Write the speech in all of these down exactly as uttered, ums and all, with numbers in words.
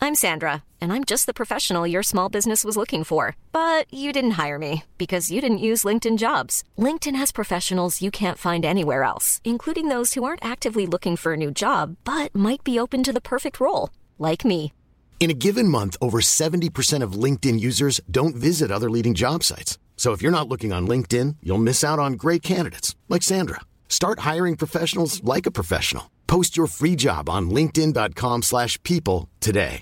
I'm Sandra, and I'm just the professional your small business was looking for. But you didn't hire me because you didn't use LinkedIn Jobs. LinkedIn has professionals you can't find anywhere else, including those who aren't actively looking for a new job, but might be open to the perfect role, like me. In a given month, over seventy percent of LinkedIn users don't visit other leading job sites. So if you're not looking on LinkedIn, you'll miss out on great candidates like Sandra. Start hiring professionals like a professional. Post your free job on linkedin.com slash people today.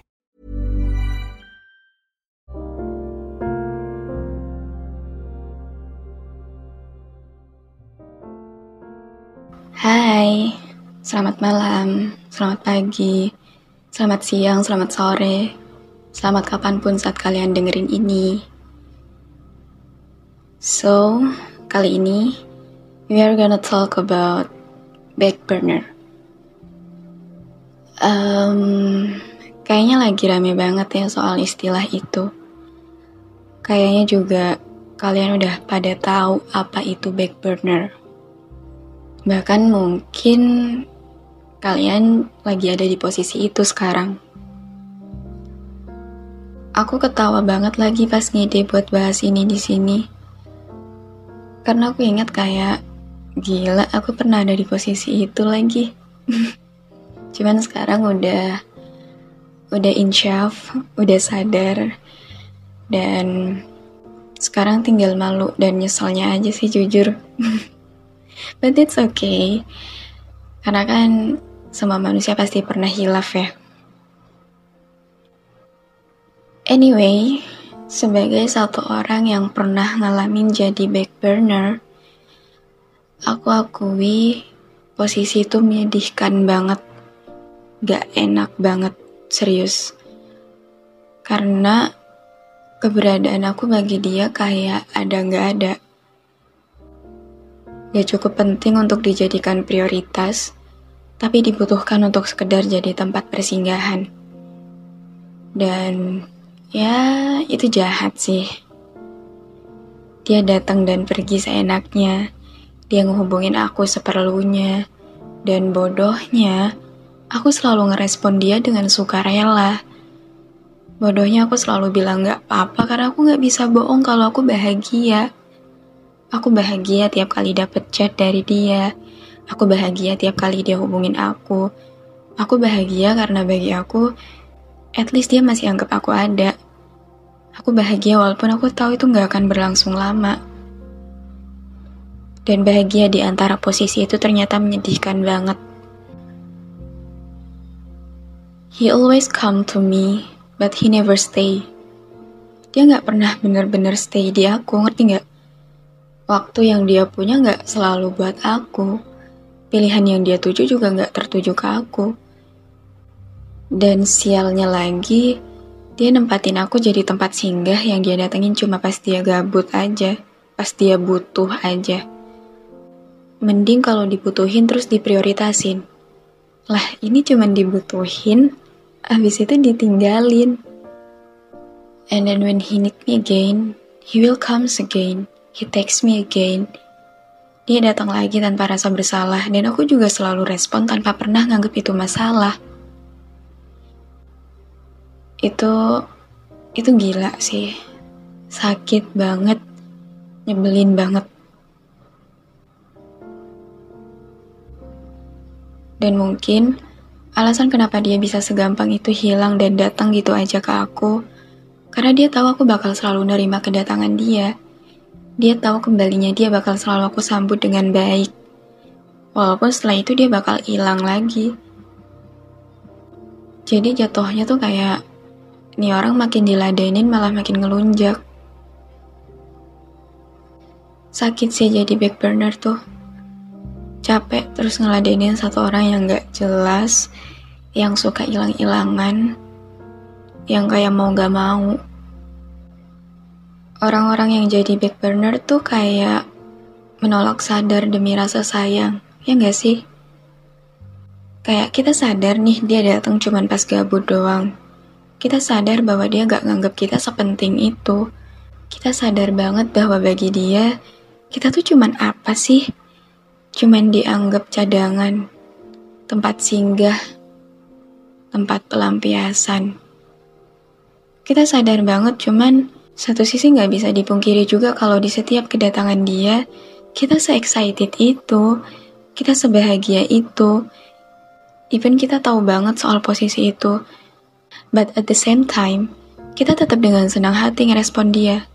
Hai, selamat malam, selamat pagi, selamat siang, selamat sore, selamat kapanpun saat kalian dengerin ini. So, kali ini we are gonna talk about back burner. Um, kayaknya lagi rame banget ya soal istilah itu. Kayaknya juga kalian udah pada tahu apa itu back burner. Bahkan mungkin kalian lagi ada di posisi itu sekarang. Aku ketawa banget lagi pas ngide buat bahas ini di sini. Karena aku ingat kayak, gila aku pernah ada di posisi itu lagi. Cuman sekarang udah udah insyaf, udah sadar, dan sekarang tinggal malu dan nyeselnya aja sih jujur. But it's okay, karena kan semua manusia pasti pernah hilaf ya. Anyway, sebagai satu orang yang pernah ngalamin jadi back burner, aku akui posisi itu menyedihkan banget, gak enak banget, serius. Karena keberadaan aku bagi dia kayak ada gak ada. Gak cukup penting untuk dijadikan prioritas, tapi dibutuhkan untuk sekedar jadi tempat persinggahan. Dan ya, itu jahat sih. Dia datang dan pergi seenaknya. Dia ngehubungin aku seperlunya. Dan bodohnya, aku selalu ngerespon dia dengan sukarela. Bodohnya aku selalu bilang gak apa-apa karena aku gak bisa bohong kalau aku bahagia. Aku bahagia tiap kali dapet chat dari dia. Aku bahagia tiap kali dia hubungin aku. Aku bahagia karena bagi aku, at least dia masih anggap aku ada. Aku bahagia walaupun aku tahu itu gak akan berlangsung lama. Dan bahagia di antara posisi itu ternyata menyedihkan banget. He always come to me, but he never stay. Dia gak pernah bener-bener stay di aku, ngerti gak? Waktu yang dia punya gak selalu buat aku. Pilihan yang dia tuju juga gak tertuju ke aku. Dan sialnya lagi, dia nempatin aku jadi tempat singgah yang dia datengin cuma pas dia gabut aja, pas dia butuh aja. Mending kalau dibutuhin terus diprioritasin. Lah, ini cuma dibutuhin, abis itu ditinggalin. And then when he need me again, he will comes again. He texts me again. Dia datang lagi tanpa rasa bersalah, dan aku juga selalu respon tanpa pernah nganggep itu masalah. Itu, itu gila sih. Sakit banget, nyebelin banget. Dan mungkin alasan kenapa dia bisa segampang itu hilang dan datang gitu aja ke aku, karena dia tahu aku bakal selalu nerima kedatangan dia. Dia tahu kembalinya dia bakal selalu aku sambut dengan baik. Walaupun setelah itu dia bakal hilang lagi. Jadi jatuhnya tuh kayak, nih orang makin diladenin malah makin ngelunjak. Sakit sih jadi back burner tuh. Capek terus ngeladenin satu orang yang gak jelas, yang suka hilang-hilangan, yang kayak mau gak mau. Orang-orang yang jadi back burner tuh kayak menolak sadar demi rasa sayang, ya gak sih? Kayak kita sadar nih dia datang cuman pas gabut doang. Kita sadar bahwa dia gak nganggap kita sepenting itu. Kita sadar banget bahwa bagi dia, kita tuh cuman apa sih? Cuman dianggap cadangan, tempat singgah, tempat pelampiasan. Kita sadar banget, cuman satu sisi nggak bisa dipungkiri juga kalau di setiap kedatangan dia, kita se-excited itu, kita sebahagia itu. Even kita tahu banget soal posisi itu. But at the same time, kita tetap dengan senang hati ngerespon dia.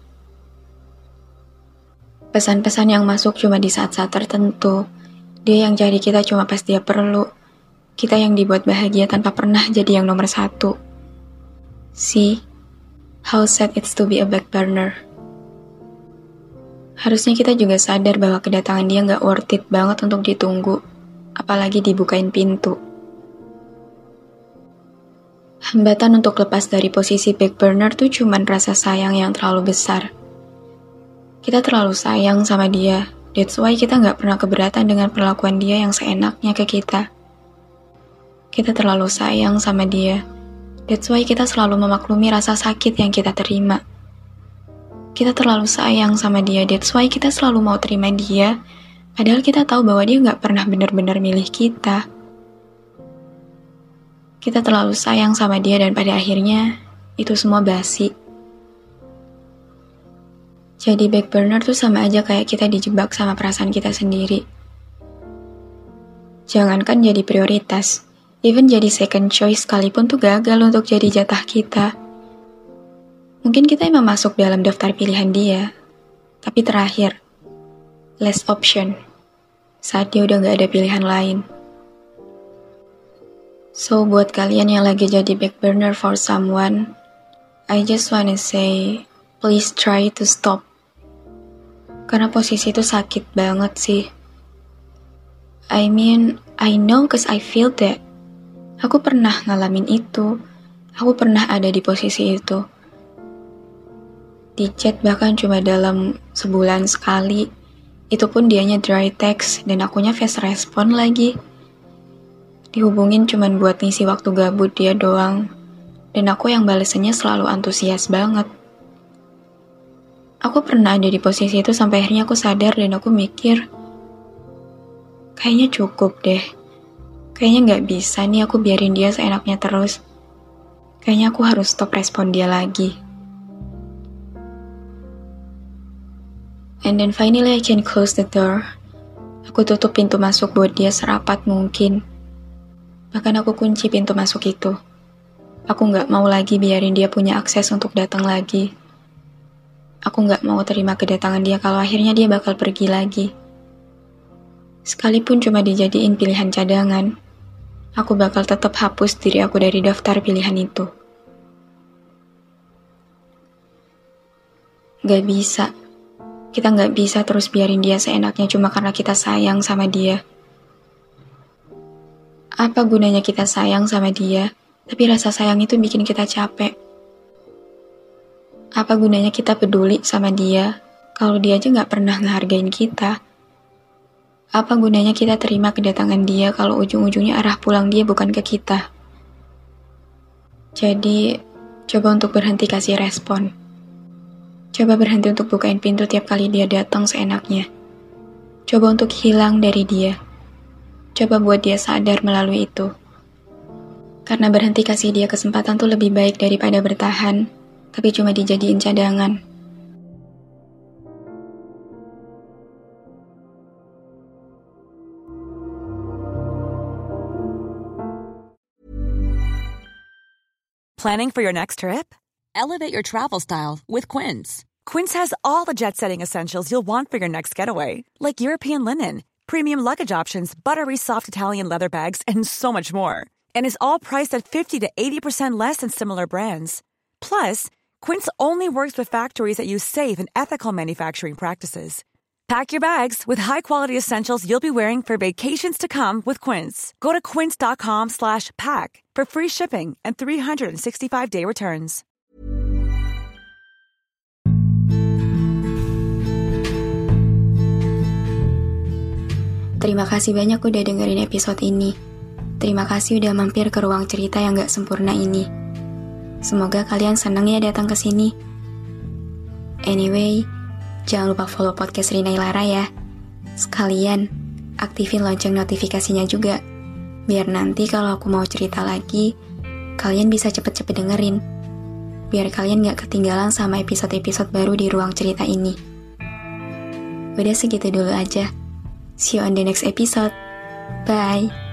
Pesan-pesan yang masuk cuma di saat-saat tertentu. Dia yang cari kita cuma pas dia perlu. Kita yang dibuat bahagia tanpa pernah jadi yang nomor satu. See? How sad it's to be a back burner. Harusnya kita juga sadar bahwa kedatangan dia gak worth it banget untuk ditunggu, apalagi dibukain pintu. Hambatan untuk lepas dari posisi back burner tuh cuman rasa sayang yang terlalu besar. Kita terlalu sayang sama dia, that's why kita gak pernah keberatan dengan perlakuan dia yang seenaknya ke kita. Kita terlalu sayang sama dia, that's why kita selalu memaklumi rasa sakit yang kita terima. Kita terlalu sayang sama dia, that's why kita selalu mau terima dia, padahal kita tahu bahwa dia gak pernah benar-benar milih kita. Kita terlalu sayang sama dia dan pada akhirnya, itu semua basi. Jadi back burner tuh sama aja kayak kita dijebak sama perasaan kita sendiri. Jangankan jadi prioritas, even jadi second choice sekalipun tuh gagal untuk jadi jatah kita. Mungkin kita emang masuk dalam daftar pilihan dia, tapi terakhir, last option, saat dia udah gak ada pilihan lain. So, buat kalian yang lagi jadi back burner for someone, I just wanna say, please try to stop. Karena posisi itu sakit banget sih. I mean, I know cause I feel that. Aku pernah ngalamin itu. Aku pernah ada di posisi itu. Di chat bahkan cuma dalam sebulan sekali. Itu pun dianya dry text dan akunya fast respon lagi. Dihubungin cuma buat ngisi waktu gabut dia doang. Dan aku yang balesannya selalu antusias banget. Aku pernah ada di posisi itu sampai akhirnya aku sadar dan aku mikir, kayaknya cukup deh. Kayaknya gak bisa nih aku biarin dia seenaknya terus. Kayaknya aku harus stop respon dia lagi. And then finally I can close the door. Aku tutup pintu masuk buat dia serapat mungkin. Bahkan aku kunci pintu masuk itu. Aku gak mau lagi biarin dia punya akses untuk datang lagi. Aku gak mau terima kedatangan dia kalau akhirnya dia bakal pergi lagi. Sekalipun cuma dijadiin pilihan cadangan, aku bakal tetap hapus diri aku dari daftar pilihan itu. Gak bisa. Kita gak bisa terus biarin dia seenaknya cuma karena kita sayang sama dia. Apa gunanya kita sayang sama dia, tapi rasa sayang itu bikin kita capek? Apa gunanya kita peduli sama dia, kalau dia aja gak pernah ngehargain kita? Apa gunanya kita terima kedatangan dia kalau ujung-ujungnya arah pulang dia bukan ke kita? Jadi, coba untuk berhenti kasih respon. Coba berhenti untuk bukain pintu tiap kali dia datang seenaknya. Coba untuk hilang dari dia. Coba buat dia sadar melalui itu. Karena berhenti kasih dia kesempatan tuh lebih baik daripada bertahan, tapi cuma dijadiin cadangan. Planning for your next trip? Elevate your travel style with Quince. Quince has all the jet-setting essentials you'll want for your next getaway, like European linen, premium luggage options, buttery soft Italian leather bags, and so much more. And is all priced at fifty to eighty percent less than similar brands. Plus, Quince only works with factories that use safe and ethical manufacturing practices. Pack your bags with high-quality essentials you'll be wearing for vacations to come with Quince. Go to quince.com slash pack for free shipping and three sixty-five day returns. Terima kasih banyak udah dengerin episode ini. Terima kasih udah mampir ke ruang cerita yang gak sempurna ini. Semoga kalian senang ya datang ke sini. Anyway, jangan lupa follow podcast Rina Ilara ya. Sekalian, aktifin lonceng notifikasinya juga. Biar nanti kalau aku mau cerita lagi, kalian bisa cepet-cepet dengerin. biar kalian gak ketinggalan sama episode-episode baru di ruang cerita ini. Udah segitu dulu aja. See you on the next episode. Bye.